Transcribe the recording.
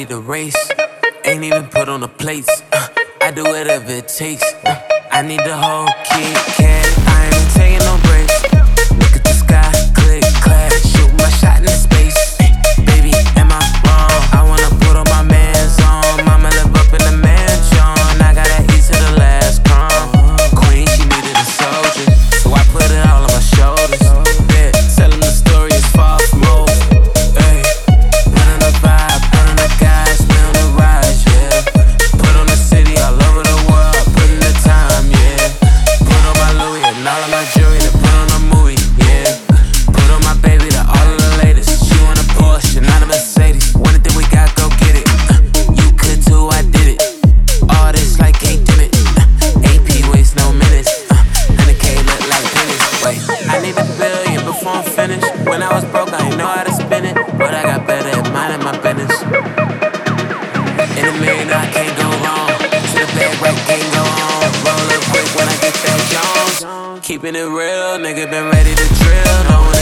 to race. Ain't even put on the plates. I do whatever it takes. I need the whole Kit Kat. I ain't taking no breaks. Look at the sky, click, clack. Shoot my shot into space. Baby, am I wrong? I wanna put all my mans on. Mama live up in the mansion. I gotta eat to the last crumb. Queen, she needed a soldier, so I put it all on my shoulders. Yeah, telling the story is far from over. Hey, put on the vibe, put on the guys, put on the rise, yeah. Put on the city all over the world, put in the time, yeah. Put on my Louis and all of my jewelry, then put on a movie, yeah. Put on my baby to all of the latest. She want a Porsche, not a Mercedes. Anything we got, go get it. You could too, I did it. All this like can't dim it. AP waste no minutes. 100K look like pennies. Wait, I need a billion before I'm finished. When I was broke, I ain't know how to spend it, but I got better at minding my business. In a million, I can't go wrong. To the bed, right, can't go on. Roll up quick when I get that Jones. Keeping it real, nigga been ready to drill. Knowing